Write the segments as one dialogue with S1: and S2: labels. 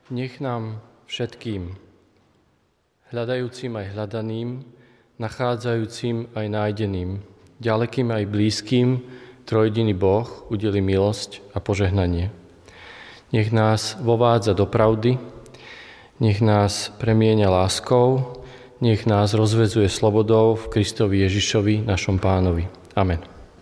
S1: Nech nám všetkým, hľadajúcim aj hľadaným, nachádzajúcim aj nájdeným, ďalekým aj blízkym, trojjediný Boh udeli milosť a požehnanie. Nech nás vovádza do pravdy, nech nás premieňa láskou, nech nás rozvezuje slobodou v Kristovi Ježišovi, našom Pánovi. Amen.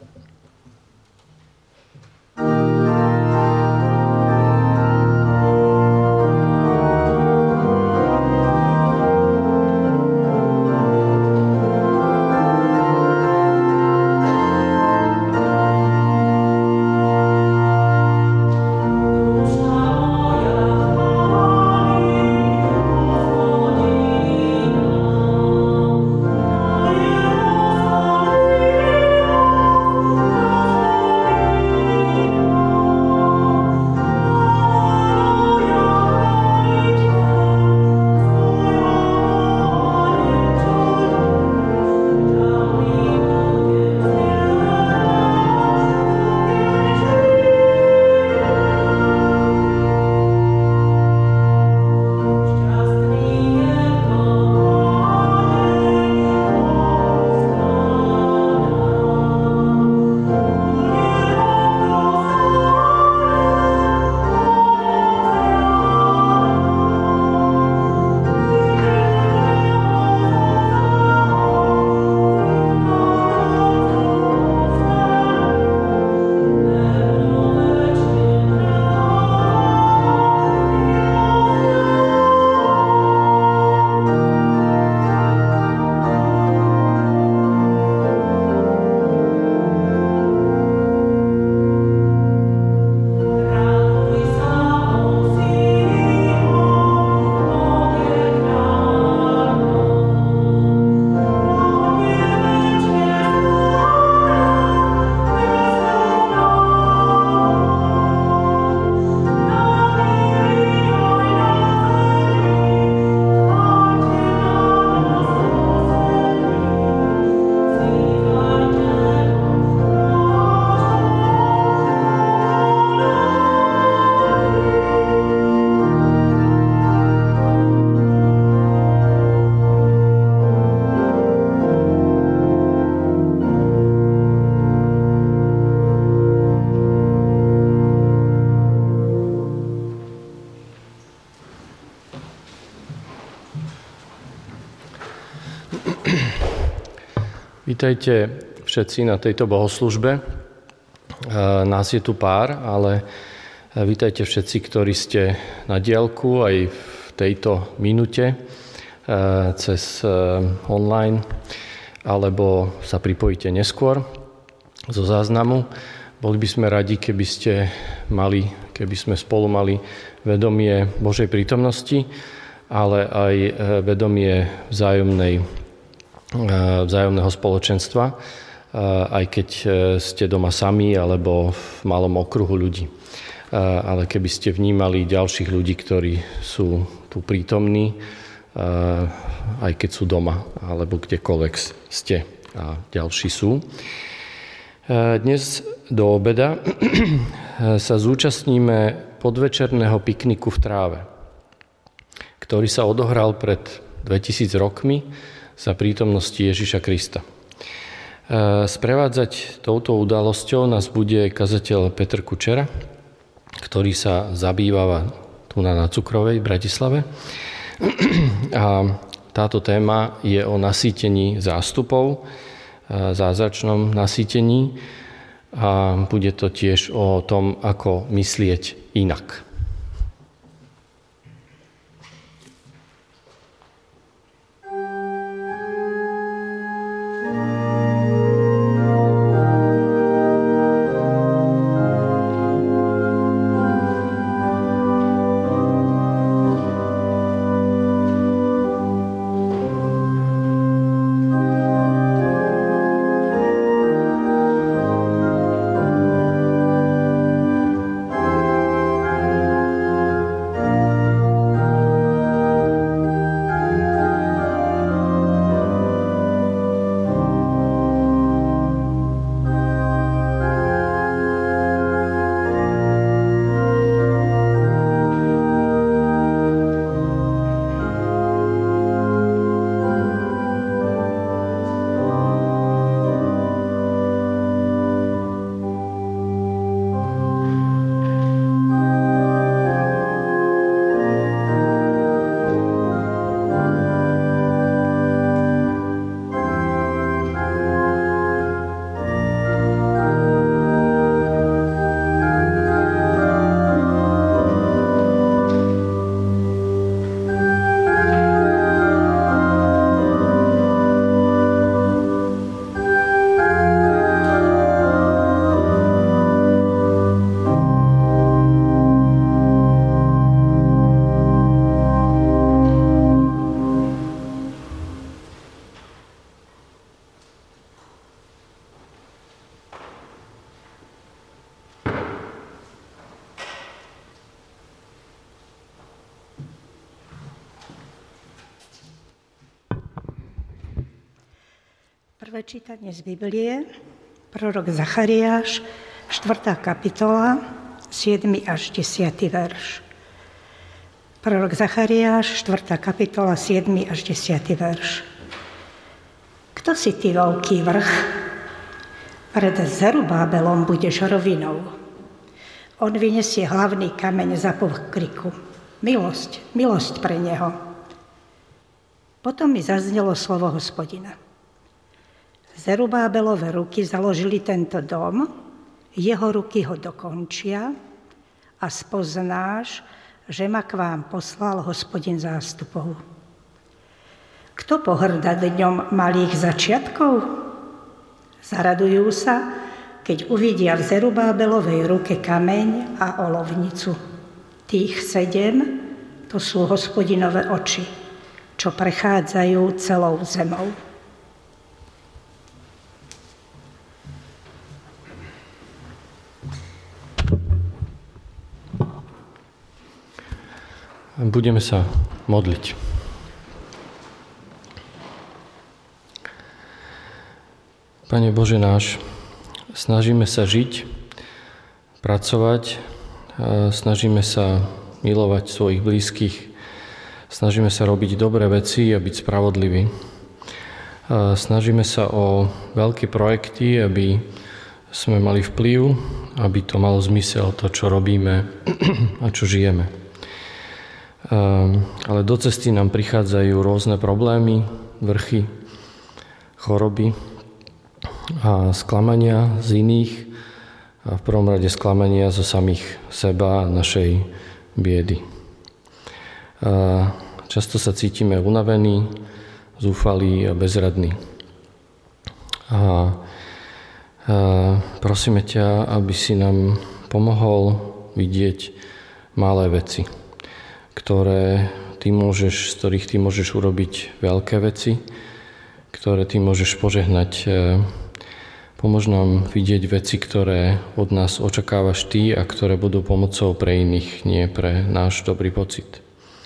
S1: Vítajte všetci na tejto bohoslužbe. Nás je tu pár, ale vítajte všetci, ktorí ste na diaľku aj v tejto minúte cez online, alebo sa pripojíte neskôr zo záznamu. Boli by sme radi, keby sme spolu mali vedomie Božej prítomnosti, ale aj vedomie vzájomného spoločenstva, aj keď ste doma sami alebo v malom okruhu ľudí. Ale keby ste vnímali ďalších ľudí, ktorí sú tu prítomní, aj keď sú doma alebo kdekoľvek ste a ďalší sú. Dnes do obeda sa zúčastníme podvečerného pikniku v tráve, ktorý sa odohral pred 2000 rokmi za prítomnosti Ježiša Krista. Sprevádzať touto udalosťou nás bude kazateľ Peter Kučera, ktorý sa zabýva tu na Cukrovej v Bratislave. A táto téma je o nasýtení zástupov, zázračnom nasýtení, a bude to tiež o tom, ako myslieť inak.
S2: Prvé čítanie z Biblie, prorok Zachariáš, 4. kapitola, 7. až 10. verš. Prorok Zachariáš, 4. kapitola, 7. až 10. verš. Kto si ty, veľký vrch? Pred Zerubábelom budeš rovinou. On vyniesie hlavný kameň za pokriku. Milosť, milosť pre neho. Potom mi zaznelo slovo Hospodina. Zerubábelove ruky založili tento dom, jeho ruky ho dokončia a spoznáš, že ma k vám poslal Hospodin zástupov. Kto pohŕda dňom malých začiatkov? Zaradujú sa, keď uvidia v Zerubábelovej ruke kameň a olovnicu. Tých 7, to sú Hospodinové oči, čo prechádzajú celou zemou.
S1: Budeme sa modliť. Pane Bože náš, snažíme sa žiť, pracovať, snažíme sa milovať svojich blízkych, snažíme sa robiť dobré veci a byť spravodliví. Snažíme sa o veľké projekty, aby sme mali vplyv, aby to malo zmysel, to, čo robíme a čo žijeme. Ale do cesty nám prichádzajú rôzne problémy, vrchy, choroby a sklamania z iných a v prvom rade sklamania zo samých seba a našej biedy. Často sa cítime unavení, zúfalí a bezradní. Prosíme ťa, aby si nám pomohol vidieť malé veci, z ktorých ty môžeš urobiť veľké veci, ktoré ty môžeš požehnať. Pomôž nám vidieť veci, ktoré od nás očakávaš ty a ktoré budú pomocou pre iných, nie pre náš dobrý pocit.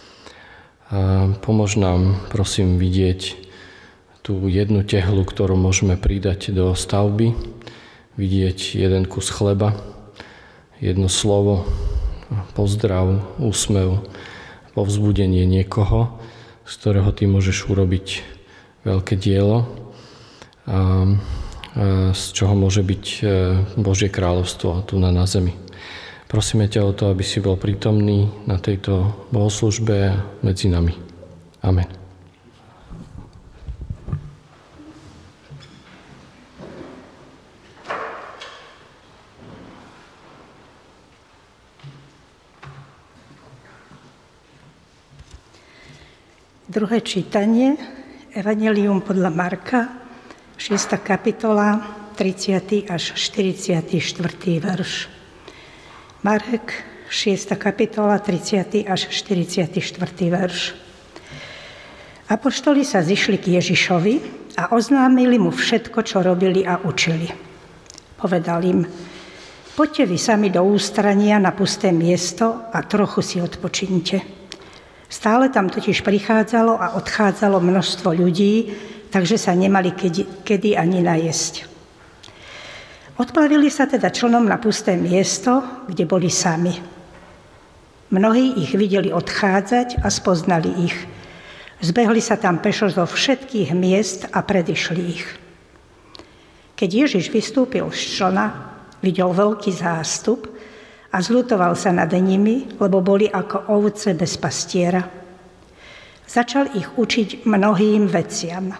S1: Pomôž nám, prosím, vidieť tú jednu tehlu, ktorú môžeme pridať do stavby, vidieť jeden kus chleba, jedno slovo, pozdrav, úsmev, povzbudenie niekoho, z ktorého ty môžeš urobiť veľké dielo a z čoho môže byť Božie kráľovstvo tu na zemi. Prosíme ťa o to, aby si bol prítomný na tejto bohoslužbe medzi nami. Amen.
S2: Druhé čítanie, Evangelium podľa Marka, 6. kapitola, 30. až 44. verš. Marek, 6. kapitola, 30. až 44. verš. Apoštoli sa zišli k Ježišovi a oznámili mu všetko, čo robili a učili. Povedal im, poďte vy sami do ústrania na pusté miesto a trochu si odpočínte. Stále tam totiž prichádzalo a odchádzalo množstvo ľudí, takže sa nemali kedy ani najesť. Odplavili sa teda člnom na pusté miesto, kde boli sami. Mnohí ich videli odchádzať a spoznali ich. Zbehli sa tam pešo zo všetkých miest a predišli ich. Keď Ježiš vystúpil z člna, videl veľký zástup a zľutoval sa nad nimi, lebo boli ako ovce bez pastiera. Začal ich učiť mnohým veciam.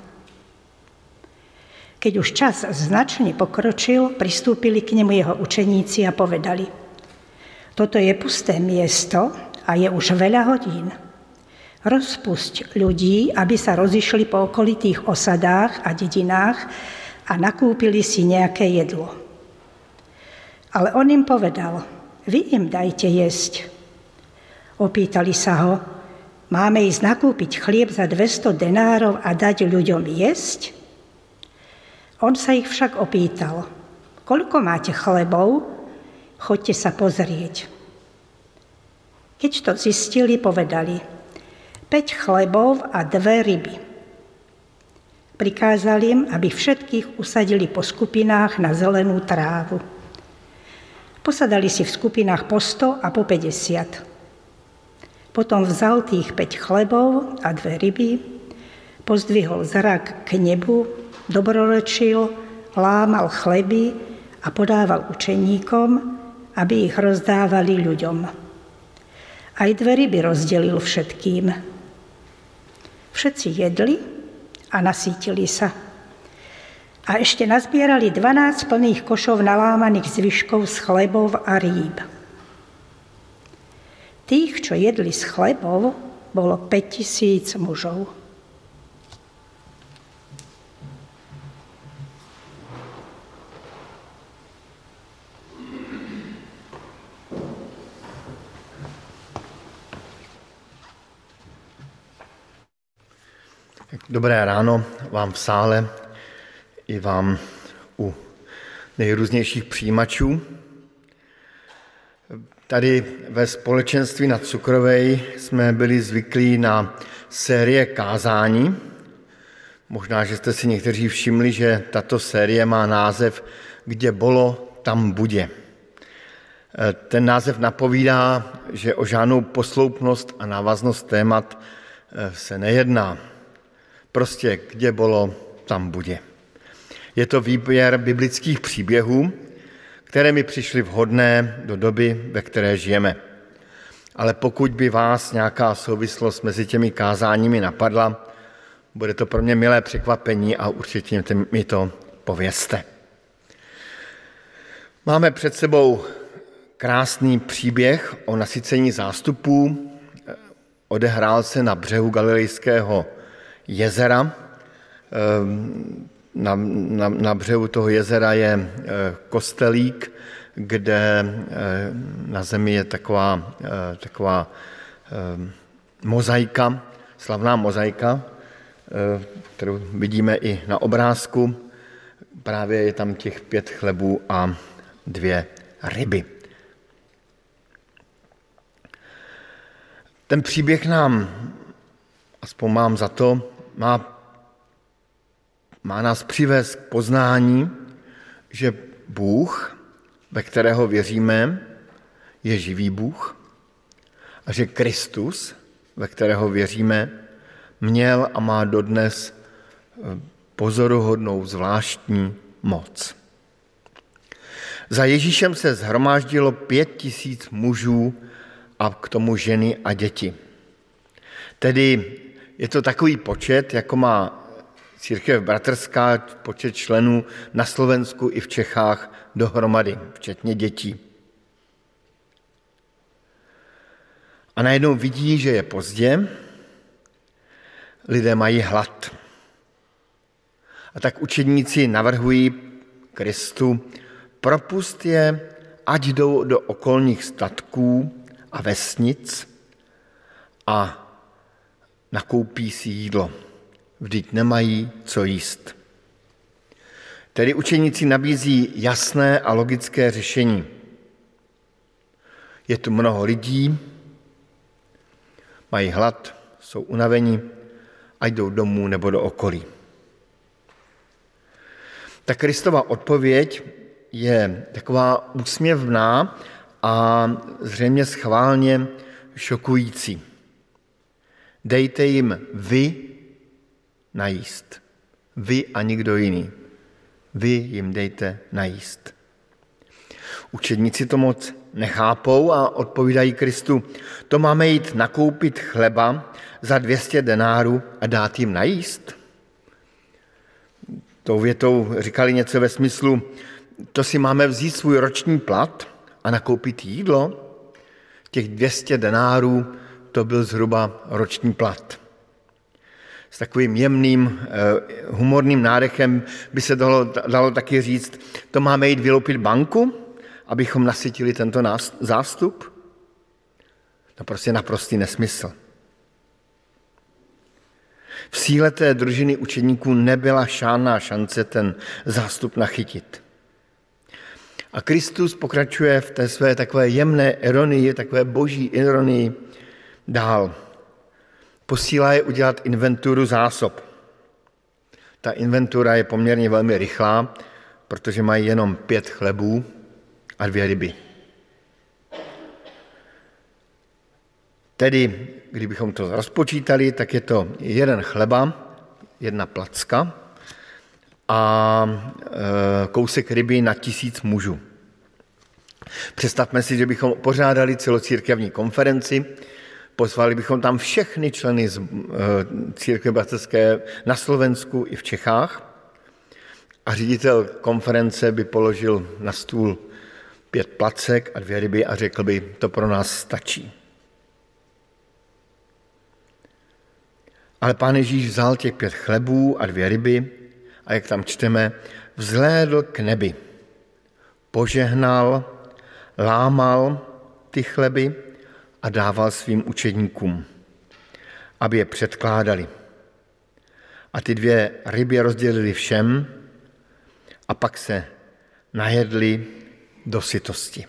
S2: Keď už čas značne pokročil, pristúpili k nemu jeho učeníci a povedali, toto je pusté miesto a je už veľa hodín. Rozpusť ľudí, aby sa rozišli po okolitých osadách a dedinách a nakúpili si nejaké jedlo. Ale on im povedal, vy im dajte jesť. Opýtali sa ho, máme ísť nakúpiť chlieb za 200 denárov a dať ľuďom jesť? On sa ich však opýtal, koľko máte chlebov? Choďte sa pozrieť. Keď to zistili, povedali, 5 chlebov a 2 ryby. Prikázal im, aby všetkých usadili po skupinách na zelenú trávu. Posadali si v skupinách po 100 a po 50. Potom vzal tých 5 chlebov a 2 ryby, pozdvihol zrak k nebu, dobrorečil, lámal chleby a podával učeníkom, aby ich rozdávali ľuďom. Aj 2 ryby rozdelil všetkým. Všetci jedli a nasýtili sa. A ešte nazbierali 12 plných košov nalámaných zvyškov z chlebov a rýb. Tých, čo jedli z chlebov, bolo 5000 mužov.
S3: Dobré ráno vám v sále i vám u nejrůznějších přijímačů. Tady ve společenství na Cukrovej jsme byli zvyklí na série kázání. Možná, že jste si někteří všimli, že tato série má název Kde bolo, tam bude. Ten název napovídá, že o žádnou posloupnost a návaznost témat se nejedná. Prostě kde bolo, tam bude. Je to výběr biblických příběhů, které mi přišly vhodné do doby, ve které žijeme. Ale pokud by vás nějaká souvislost mezi těmi kázáními napadla, bude to pro mě milé překvapení a určitě mi to povězte. Máme před sebou krásný příběh o nasycení zástupů. Odehrál se na břehu Galilejského jezera. Na břehu toho jezera je kostelík, kde na zemi je taková mozaika, slavná mozaika, kterou vidíme i na obrázku. Právě je tam těch 5 chlebů a 2 ryby. Ten příběh nám, aspoň mám za to, má nás přivést k poznání, že Bůh, ve kterého věříme, je živý Bůh a že Kristus, ve kterého věříme, měl a má dodnes pozoruhodnou zvláštní moc. Za Ježíšem se shromáždilo 5000 mužů a k tomu ženy a děti. Tedy je to takový počet, jako má Církev bratrská, počet členů na Slovensku i v Čechách dohromady, včetně dětí. A najednou vidí, že je pozdě, lidé mají hlad. A tak učedníci navrhují Kristu, propust je, ať jdou do okolních statků a vesnic a nakoupí si jídlo. Vždyť nemají co jíst. Tedy učeníci nabízí jasné a logické řešení. Je tu mnoho lidí, mají hlad, jsou unavení a jdou domů nebo do okolí. Ta Kristova odpověď je taková úsměvná a zřejmě schválně šokující. Dejte jim vy najíst. Vy a nikdo jiný. Vy jim dejte najíst. Učedníci to moc nechápou a odpovídají Kristu, to máme jít nakoupit chleba za 200 denárů a dát jim najíst? Tou větou říkali něco ve smyslu, to si máme vzít svůj roční plat a nakoupit jídlo? Těch 200 denárů to byl zhruba roční plat. S takovým jemným, humorným nádechem by se dalo taky říct, to máme jít vyloupit banku, abychom nasytili tento zástup? To prostě naprostý nesmysl. V síle té družiny učeníků nebyla žádná šance ten zástup nachytit. A Kristus pokračuje v té své takové jemné ironii, takové boží ironii dál. Posílá je udělat inventuru zásob. ta inventura je poměrně velmi rychlá, protože mají jenom 5 chlebů a 2 ryby. Tedy, kdybychom to rozpočítali, tak je to 1 chleba, 1 placka a kousek ryby na 1000 mužů. Představme si, že bychom pořádali celocírkevní konferenci, pozvali bychom tam všechny členy z církve bratrské na Slovensku i v Čechách a ředitel konference by položil na stůl 5 placek a 2 ryby a řekl by, to pro nás stačí. Ale Pán Ježíš vzal těch 5 chlebů a 2 ryby a jak tam čteme, vzhlédl k nebi, požehnal, lámal ty chleby a dával svým učedníkům, aby je předkládali. A ty 2 ryby rozdělili všem a pak se najedli do sytosti.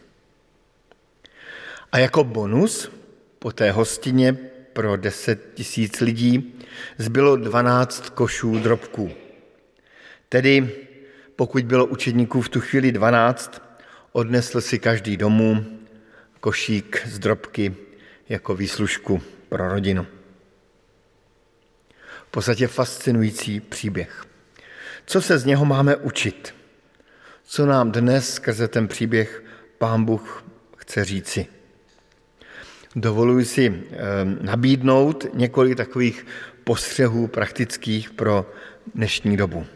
S3: A jako bonus po té hostině pro 10 000 lidí zbylo 12 košů drobků. Tedy pokud bylo učedníků v tu chvíli 12, odnesl si každý domů košík z drobky jako výslužku pro rodinu. V podstatě fascinující příběh. Co se z něho máme učit? Co nám dnes skrze ten příběh Pán Bůh chce říci? Dovoluji si nabídnout několik takových postřehů praktických pro dnešní dobu.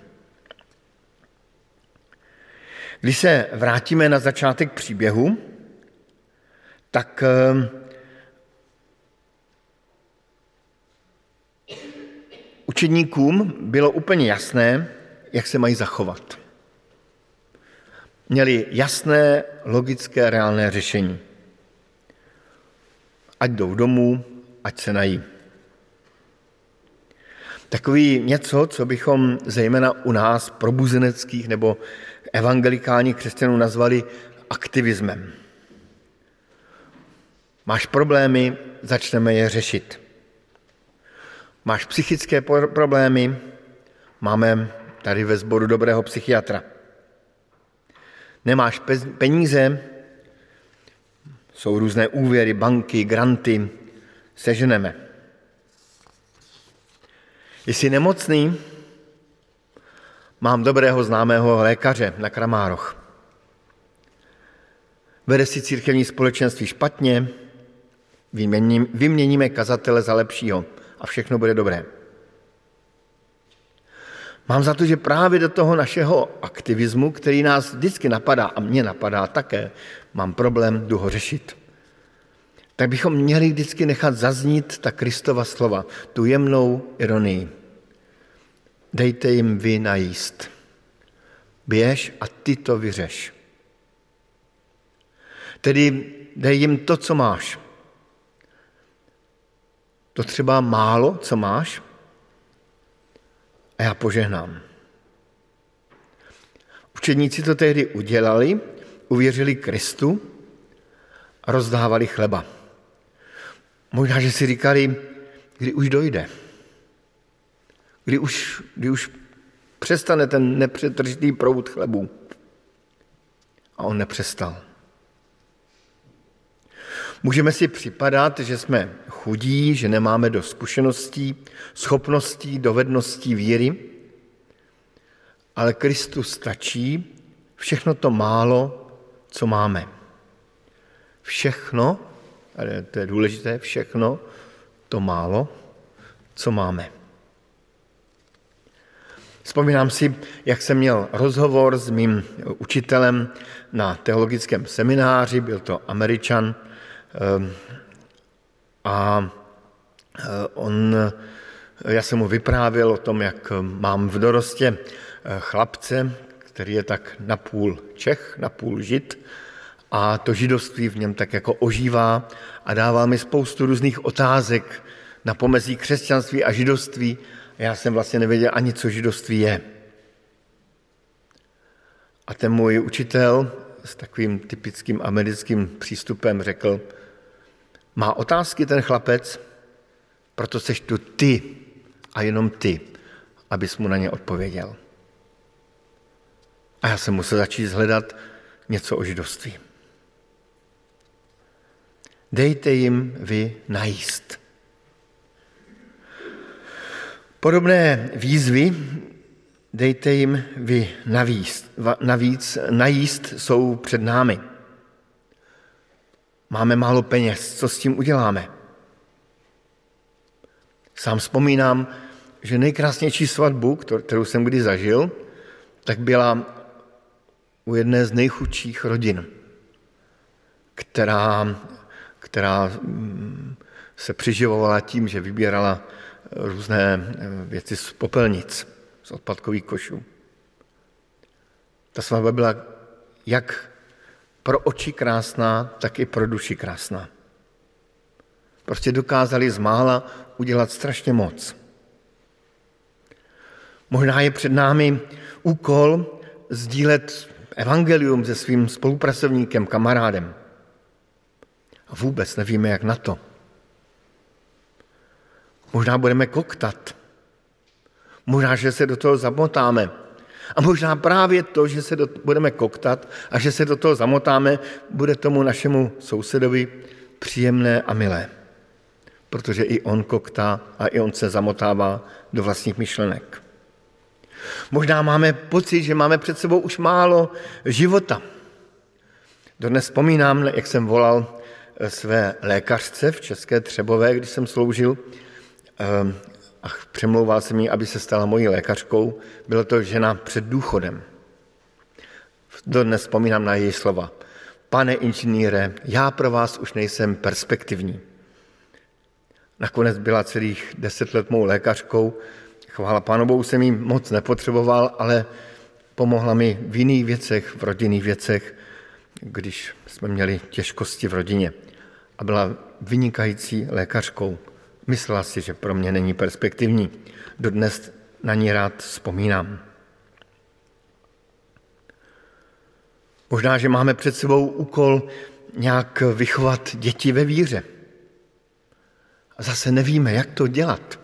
S3: Když se vrátíme na začátek příběhu, tak učedníkům bylo úplně jasné, jak se mají zachovat. Měli jasné, logické, reálné řešení. Ať jdou domů, ať se nají. Takový něco, co bychom zejména u nás probuzeneckých nebo evangelikálních křesťanů nazvali aktivismem. Máš problémy, začneme je řešit. Máš psychické problémy, máme tady ve sboru dobrého psychiatra. Nemáš peníze, jsou různé úvěry, banky, granty, seženeme. Jsi nemocný, mám dobrého známého lékaře na Kramároch. Vede si církevní společenství špatně, vyměníme kazatele za lepšího a všechno bude dobré. Mám za to, že právě do toho našeho aktivismu, který nás vždycky napadá a mě napadá také, mám problém, jdu ho řešit, tak bychom měli vždycky nechat zaznít ta Kristova slova, tu jemnou ironii. Dejte jim vy najíst. Běž a ty to vyřeš. Tedy dej jim to, co máš. To třeba málo, co máš, a já požehnám. Učedníci to tehdy udělali, uvěřili Kristu a rozdávali chleba. Možná, že si říkali, kdy už dojde. Kdy už přestane ten nepřetržitý proud chlebů. A on nepřestal. Můžeme si připadat, že jsme chudí, že nemáme dost zkušeností, schopností, dovedností, víry, ale Kristu stačí všechno to málo, co máme. Všechno, ale to je důležité, všechno to málo, co máme. Vzpomínám si, jak jsem měl rozhovor s mým učitelem na teologickém semináři, byl to Američan, a já jsem mu vyprávěl o tom, jak mám v dorostě chlapce, který je tak napůl Čech, napůl Žid, a to židovství v něm tak jako ožívá a dával mi spoustu různých otázek na pomezí křesťanství a židovství. A já jsem vlastně nevěděl ani, co židovství je. A ten můj učitel s takovým typickým americkým přístupem řekl, má otázky ten chlapec, proto seš tu ty a jenom ty. abys mu na ně odpověděl. A já jsem musel začít hledat něco o židovství. Dejte jim vy najíst. Podobné výzvy dejte jim vy navíc najíst jsou před námi. Máme málo peněz, co s tím uděláme? Sám vzpomínám, že nejkrásnější svatbu, kterou jsem kdy zažil, tak byla u jedné z nejchudších rodin, která se přiživovala tím, že vybírala různé věci z popelnic, z odpadkových košů. Ta svatba byla jak pro oči krásná, tak i pro duši krásná. Prostě dokázali z mála udělat strašně moc. Možná je před námi úkol sdílet evangelium se svým spolupracovníkem, kamarádem. A vůbec nevíme, jak na to. Možná budeme koktat. Možná, že se do toho zamotáme. A možná právě to, že se budeme koktat a že se do toho zamotáme, bude tomu našemu sousedovi příjemné a milé. Protože i on koktá a i on se zamotává do vlastních myšlenek. Možná máme pocit, že máme před sebou už málo života. Dodnes vzpomínám, jak jsem volal své lékařce v České Třebové, když jsem sloužil, a přemlouval jsem jí, aby se stala mojí lékařkou. Byla to žena před důchodem. Dodnes vzpomínám na její slova. Pane inženýre, já pro vás už nejsem perspektivní. Nakonec byla celých 10 let mou lékařkou. Chvála Pánu Bohu, jsem jí moc nepotřeboval, ale pomohla mi v jiných věcech, v rodinných věcech, když jsme měli těžkosti v rodině. A byla vynikající lékařkou. Myslela si, že pro mě není perspektivní. Dodnes na ní rád vzpomínám. Možná, že máme před sebou úkol nějak vychovat děti ve víře. A zase nevíme, jak to dělat.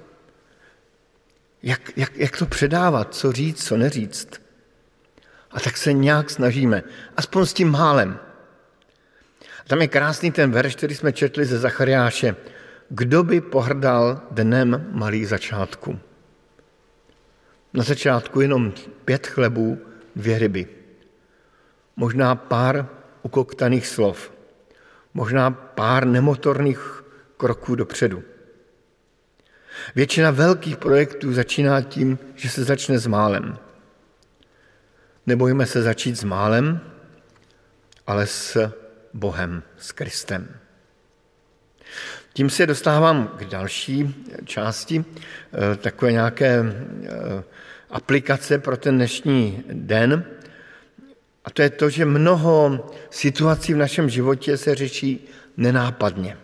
S3: Jak to předávat, co říct, co neříct. A tak se nějak snažíme, aspoň s tím málem. A tam je krásný ten verš, který jsme četli ze Zachariáše. Kdo by pohrdal dnem malých začátků? Na začátku jenom 5 chlebů, 2 ryby. Možná pár ukoktaných slov. Možná pár nemotorných kroků dopředu. Většina velkých projektů začíná tím, že se začne s málem. Nebojme se začít s málem, ale s Bohem, s Kristem. Tím se dostávám k další části, takové nějaké aplikace pro ten dnešní den. A to je to, že mnoho situací v našem životě se řeší nenápadně.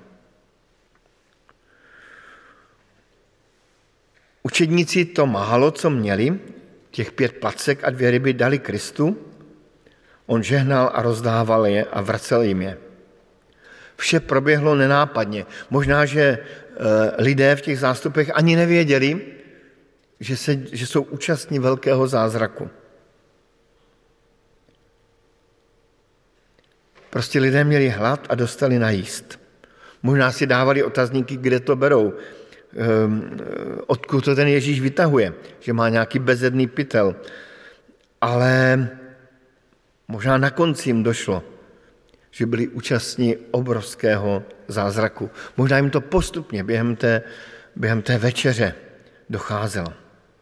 S3: Učedníci to málo, co měli, těch 5 placek a 2 ryby dali Kristu, on žehnal a rozdával je a vracel jim je. Vše proběhlo nenápadně. Možná, že lidé v těch zástupech ani nevěděli, že jsou účastní velkého zázraku. Prostě lidé měli hlad a dostali najíst. Možná si dávali otazníky, kde to berou, odkud to ten Ježíš vytahuje, že má nějaký bezedný pytel. Ale možná na konci jim došlo, že byli účastní obrovského zázraku. Možná jim to postupně během té večeře docházelo.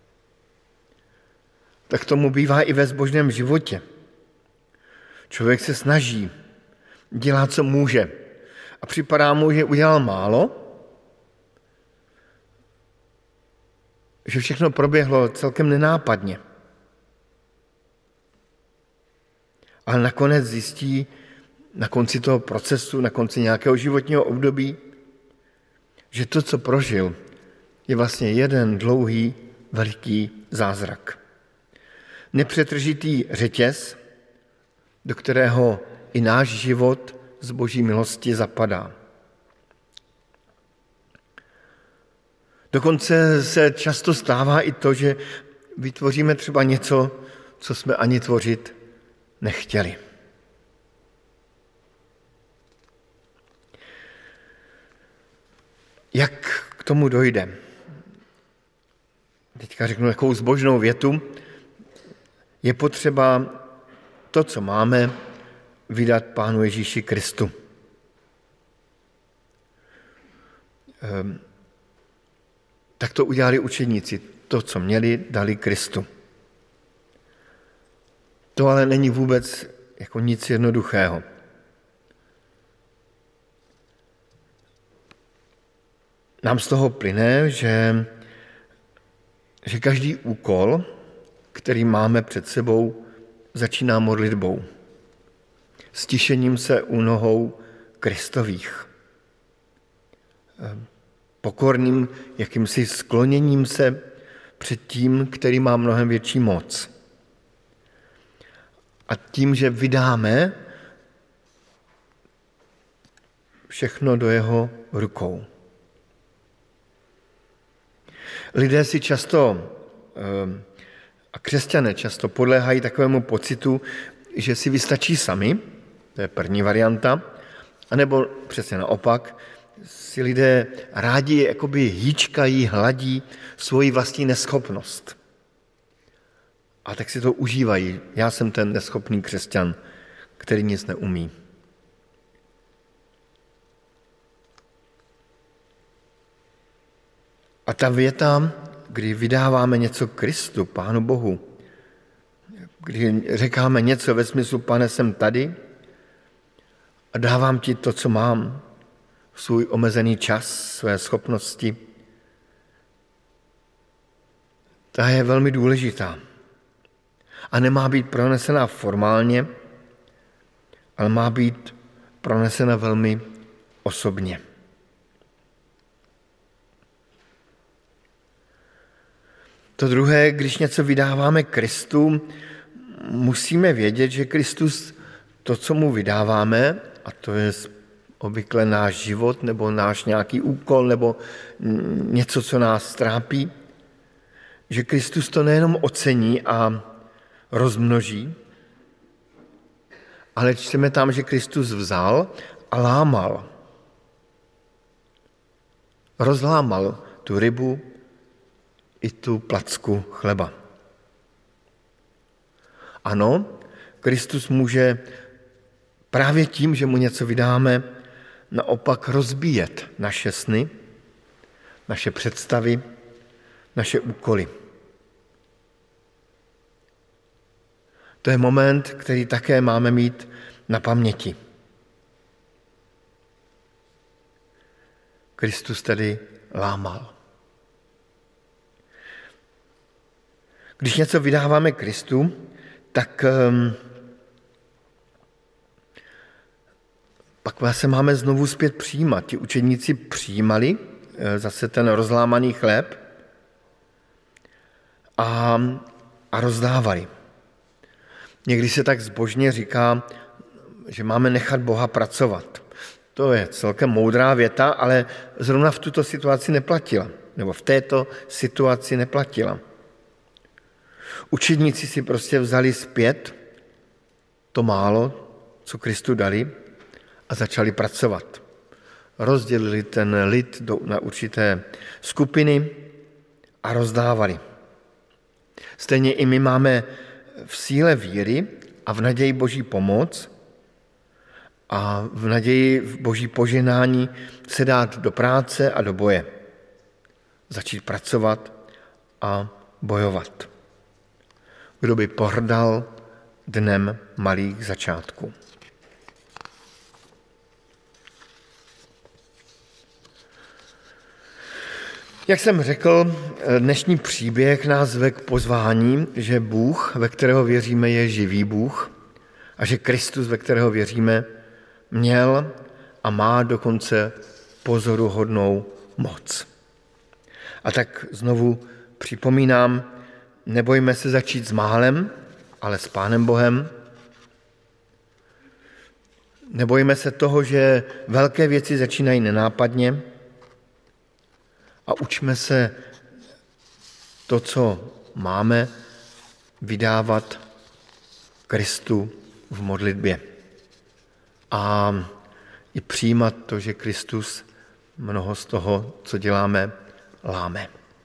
S3: Tak tomu bývá i ve zbožném životě. Člověk se snaží, dělá, co může. A připadá mu, že udělal málo, že všechno proběhlo celkem nenápadně. Ale nakonec zjistí, na konci toho procesu, na konci nějakého životního období, že to, co prožil, je vlastně jeden dlouhý, veliký zázrak. Nepřetržitý řetěz, do kterého i náš život z Boží milosti zapadá. Dokonce se často stává i to, že vytvoříme třeba něco, co jsme ani tvořit nechtěli. Jak k tomu dojde? Teďka řeknu takovou zbožnou větu. Je potřeba to, co máme, vydat Pánu Ježíši Kristu. Tak to udělali učeníci. To, co měli, dali Kristu. To ale není vůbec jako nic jednoduchého. Nám z toho plyne, že každý úkol, který máme před sebou, začíná modlitbou. Stišením se u nohou Kristových. Pokorným jakýmsi skloněním se před tím, který má mnohem větší moc. A tím, že vydáme všechno do jeho rukou. Lidé si často, a křesťané často podléhají takovému pocitu, že si vystačí sami, to je první varianta, anebo přesně naopak, si lidé rádi jakoby hýčkají, hladí svoji vlastní neschopnost. A tak si to užívají. Já jsem ten neschopný křesťan, který nic neumí. A ta věta, kdy vydáváme něco Kristu, Pánu Bohu, kdy říkáme něco ve smyslu, Pane, jsem tady a dávám ti to, co mám, svůj omezený čas, své schopnosti, ta je velmi důležitá. A nemá být pronesena formálně, ale má být pronesena velmi osobně. To druhé, když něco vydáváme Kristu, musíme vědět, že Kristus to, co mu vydáváme, a to je obvykle náš život nebo náš nějaký úkol nebo něco, co nás trápí, že Kristus to nejenom ocení a rozmnoží, ale čteme tam, že Kristus vzal a lámal. Rozlámal tu rybu i tu placku chleba. Ano, Kristus může právě tím, že mu něco vydáme, naopak rozbíjet naše sny, naše představy, naše úkoly. To je moment, který také máme mít na paměti. Kristus tedy lámal. Když něco vydáváme Kristu, tak pak se máme znovu zpět přijímat. Ti učeníci přijímali zase ten rozlámaný chléb a rozdávali. Někdy se tak zbožně říká, že máme nechat Boha pracovat. To je celkem moudrá věta, ale zrovna v tuto situaci neplatila. Nebo v této situaci neplatila. Učedníci si prostě vzali zpět to málo, co Kristu dali, a začali pracovat. Rozdělili ten lid na určité skupiny a rozdávali. Stejně i my máme v síle víry a v naději Boží pomoc a v naději v Boží požehnání se dát do práce a do boje. Začít pracovat a bojovat. Kdo by pohrdal dnem malých začátků. Jak jsem řekl, dnešní příběh nás vede k pozvání, že Bůh, ve kterého věříme, je živý Bůh a že Kristus, ve kterého věříme, měl a má dokonce pozoruhodnou moc. A tak znovu připomínám, nebojme se začít s málem, ale s Pánem Bohem. Nebojme se toho, že velké věci začínají nenápadně, a učme se to, co máme vydávat Kristu v modlitbě. A i přijímat to, že Kristus mnoho z toho, co děláme, láme.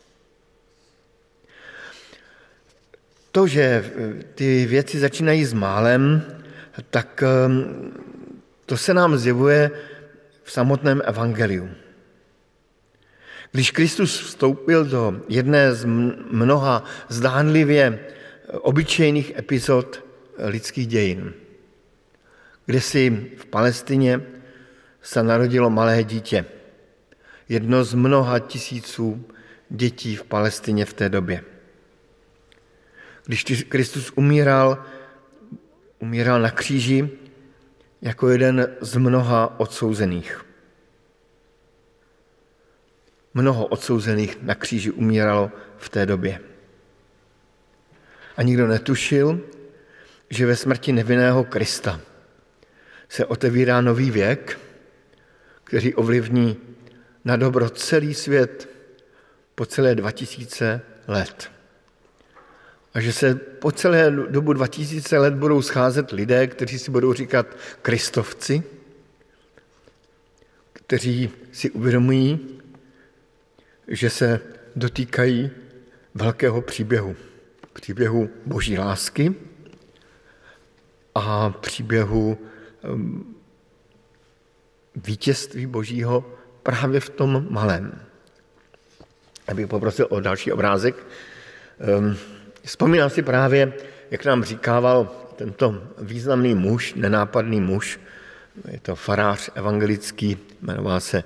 S3: To, že ty věci začínají s málem, tak to se nám zjevuje v samotném evangeliu. Když Kristus vstoupil do jedné z mnoha zdánlivě obyčejných epizod lidských dějin, kde si v Palestině se narodilo malé dítě. Jedno z mnoha tisíců dětí v Palestině v té době. Když Kristus umíral na kříži jako jeden z mnoha odsouzených. Mnoho odsouzených na kříži umíralo v té době. A nikdo netušil, že ve smrti nevinného Krista se otevírá nový věk, který ovlivní na dobro celý svět po celé 2000 let. A že se po celé dobu 2000 let budou scházet lidé, kteří si budou říkat kristovci, kteří si uvědomují, že se dotýkají velkého příběhu boží lásky a příběhu vítězství božího právě v tom malém. Abych poprosil o další obrázek. Vzpomínám si právě, jak nám říkával tento významný muž, nenápadný muž, je to farář evangelický, jmenoval se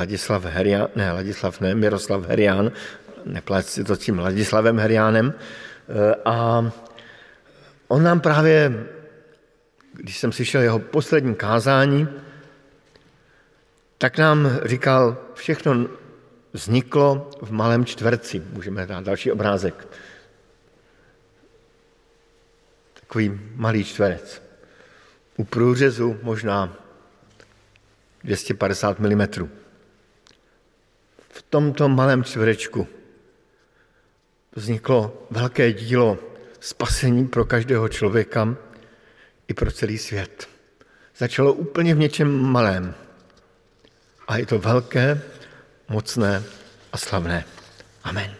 S3: Miroslav Herián, nepleť si to s tím Ladislavem Heriánem. A on nám právě, když jsem slyšel jeho poslední kázání, tak nám říkal, všechno vzniklo v malém čtverci. Můžeme dát další obrázek. Takový malý čtverec. U průřezu možná 250 mm. V tomto malém čtverečku vzniklo velké dílo spasení pro každého člověka i pro celý svět. Začalo úplně v něčem malém. A je to velké, mocné a slavné. Amen.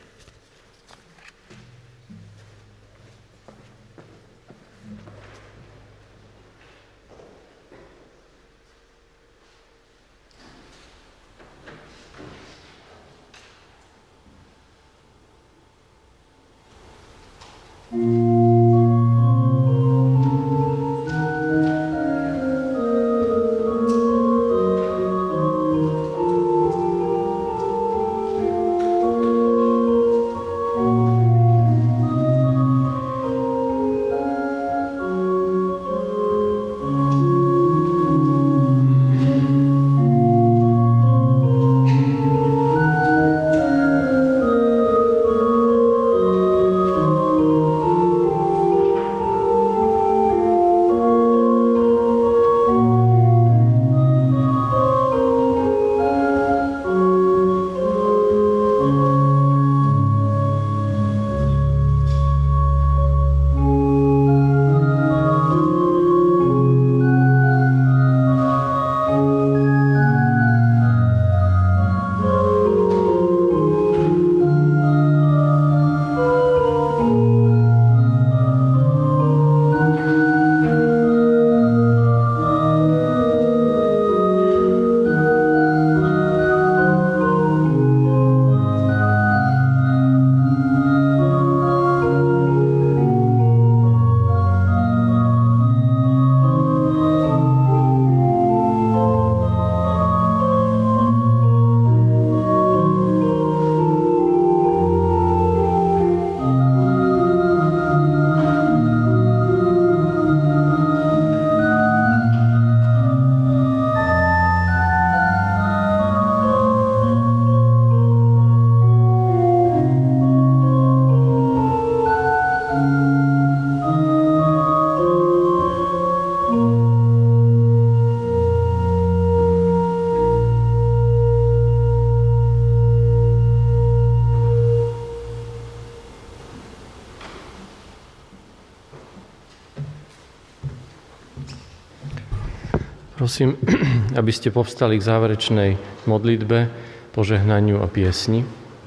S1: Prosím, aby ste povstali k záverečnej modlitbe, požehnaniu a piesni.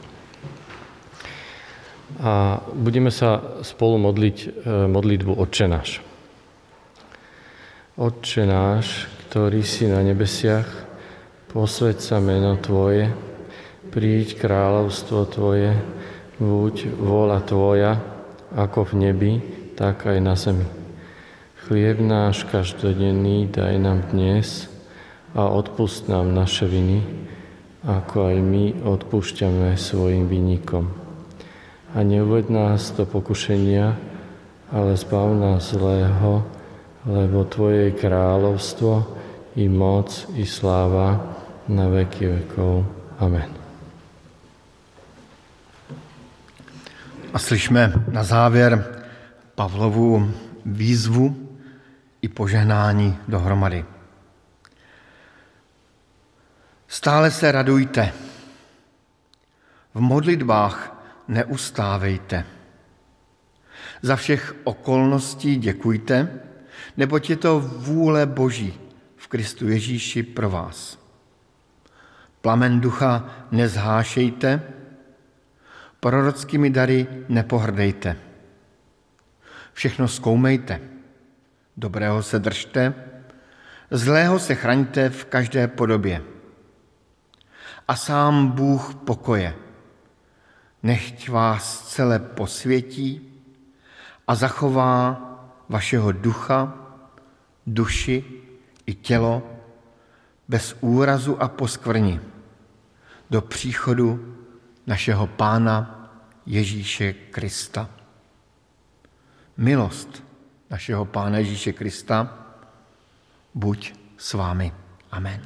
S1: A budeme sa spolu modliť modlitbu Otče náš. Otče náš, ktorý si na nebesiach, posväť sa meno Tvoje, príď kráľovstvo Tvoje, buď vôľa Tvoja, ako v nebi, tak aj na zemi. Chlieb náš každodenný daj nám dnes a odpusť nám naše viny, ako aj my odpúšťame svojim vinníkom. A neuveď nás do pokušenia, ale zbav nás zlého, lebo Tvoje je kráľovstvo, i moc, i sláva na veky vekov. Amen.
S3: A slyšme na závěr Pavlovu výzvu i požehnání dohromady. Stále se radujte. V modlitbách neustávejte. Za všech okolností děkujte, neboť je to vůle Boží v Kristu Ježíši pro vás. Plamen ducha nezhášejte, prorockými dary nepohrdejte. Všechno zkoumejte, dobrého se držte, zlého se chraňte v každé podobě. A sám Bůh pokoje, nechť vás celé posvětí a zachová vašeho ducha, duši i tělo bez úrazu a poskvrny do příchodu našeho Pána Ježíše Krista. Milost našeho Pána Ježíše Krista buď s vámi. Amen.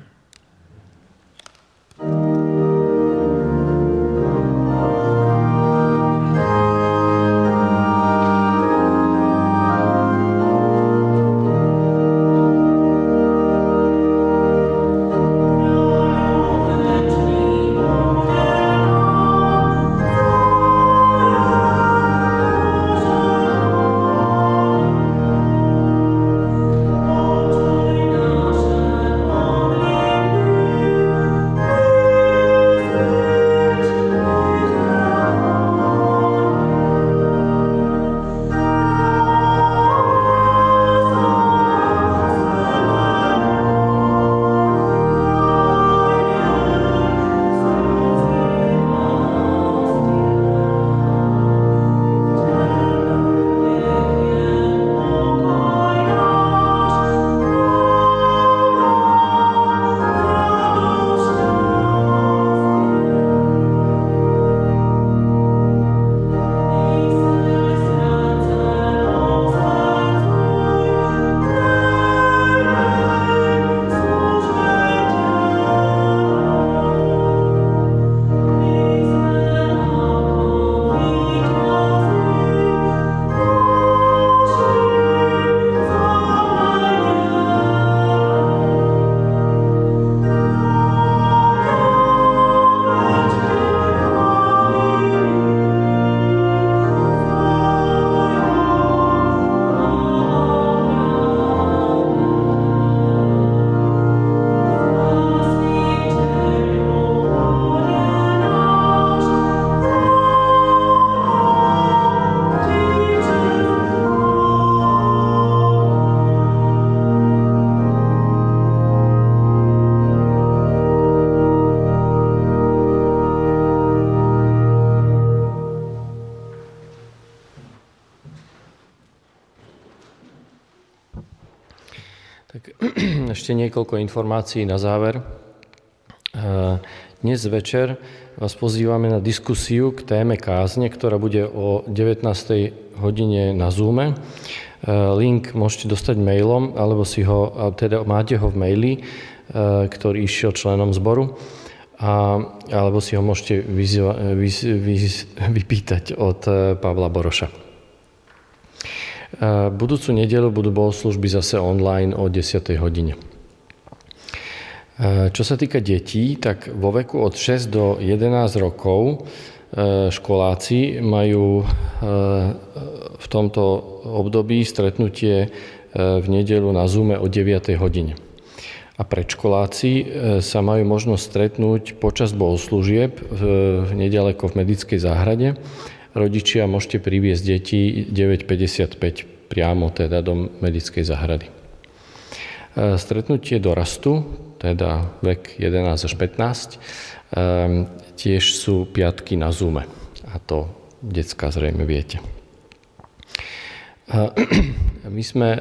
S1: Ešte niekoľko informácií na záver. Dnes večer vás pozývame na diskusiu k téme kázne, ktorá bude o 19. hodine na Zoome. Link môžete dostať mailom, alebo si ho, teda máte ho v maili, ktorý išiel členom zboru, alebo si ho môžete vypýtať od Pavla Boroša. Budúcu nedeľu budú bohoslužby zase online o 10. hodine. Čo sa týka detí, tak vo veku od 6 do 11 rokov školáci majú v tomto období stretnutie v nedeľu na Zoome o 9. hodine. a predškoláci sa majú možnosť stretnúť počas bohoslúžieb nedaleko v Medickej záhrade. Rodičia môžete priviesť deti 9:55 priamo teda do Medickej záhrady. Stretnutie dorastu, teda vek 11 až 15, tiež sú piatky na Zoome. A to decká zrejme viete. My sme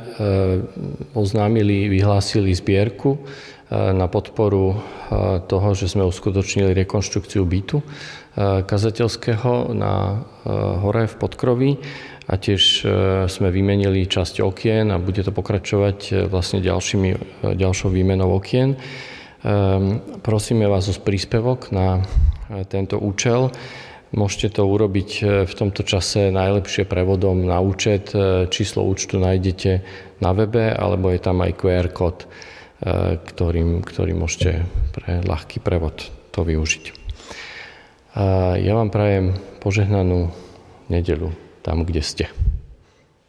S1: vyhlásili zbierku na podporu toho, že sme uskutočnili rekonštrukciu bytu kazateľského na hore v Podkroví a tiež sme vymenili časť okien a bude to pokračovať vlastne ďalšou výmenou okien. Prosíme vás o príspevok na tento účel. Môžete to urobiť v tomto čase najlepšie prevodom na účet. Číslo účtu nájdete na webe, alebo je tam aj QR kód, ktorým môžete pre ľahký prevod to využiť. Ja vám prajem požehnanú nedeľu tam, kde ste.